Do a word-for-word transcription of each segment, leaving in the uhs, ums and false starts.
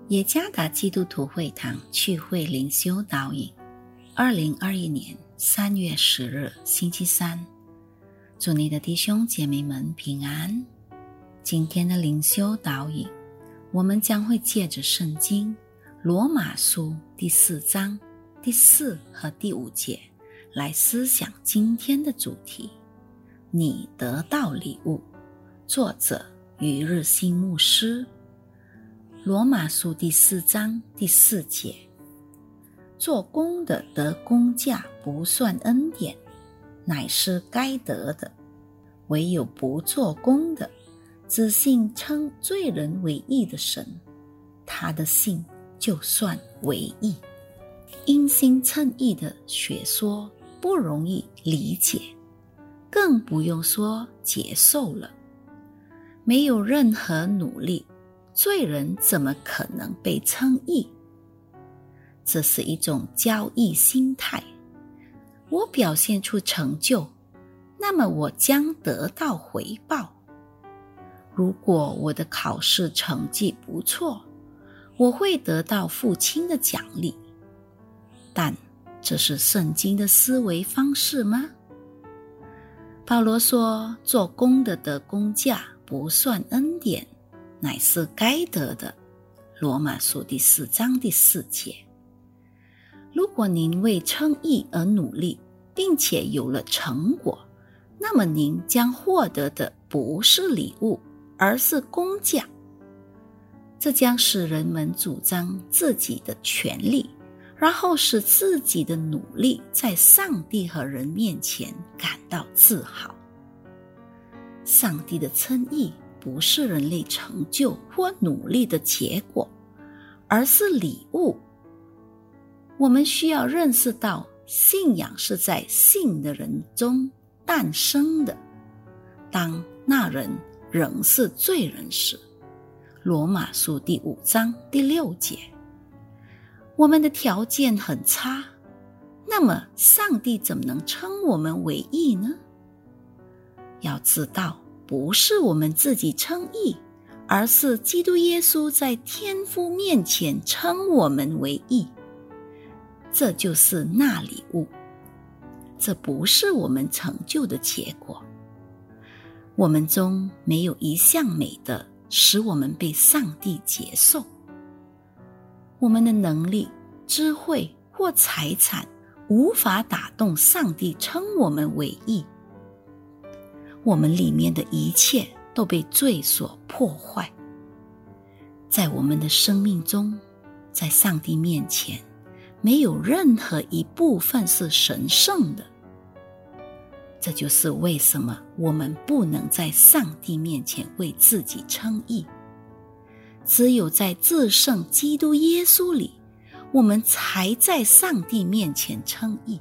耶加达基督徒会堂聚会灵修导引，二零二一年三月十日星期三，祝你的弟兄姐妹们平安。今天的灵修导引，我们将会借着圣经罗马书第四章第四和第五节来思想今天的主题，你得到礼物。作者余日新牧师。罗马书第四章第四节，做工的得工价不算恩典，乃是该得的；唯有不做工的，只信称罪人为义的神，他的信就算为义。因信称义的学说不容易理解，更不用说接受了。没有任何努力，罪人怎么可能被称义？这是一种交易心态。我表现出成就，那么我将得到回报。如果我的考试成绩不错，我会得到父亲的奖励。但这是圣经的思维方式吗？保罗说，做工的得工价不算恩典，乃是该得的。罗马书第四章第四节。如果您为称义而努力，并且有了成果，那么您将获得的不是礼物，而是工价。这将使人们主张自己的权利，然后使自己的努力在上帝和人面前感到自豪。上帝的称义不是人类成就或努力的结果，而是礼物。我们需要认识到，信仰是在信的人中诞生的，当那人仍是罪人时。罗马书第五章第六节。我们的条件很差，那么上帝怎么能称我们为义呢？要知道，不是我们自己称义，而是基督耶稣在天父面前称我们为义。这就是那礼物，这不是我们成就的结果。我们中没有一项美德使我们被上帝接受。我们的能力、智慧或财产无法打动上帝称我们为义。我们里面的一切都被罪所破坏。在我们的生命中，在上帝面前，没有任何一部分是神圣的。这就是为什么我们不能在上帝面前为自己称义。只有在至圣基督耶稣里，我们才在上帝面前称义。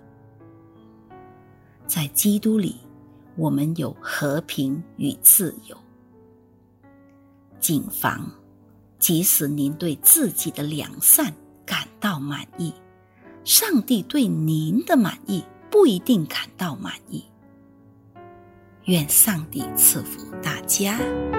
在基督里，我们有和平与自由。谨防，即使您对自己的良善感到满意，上帝对您的满意不一定感到满意。愿上帝赐福大家。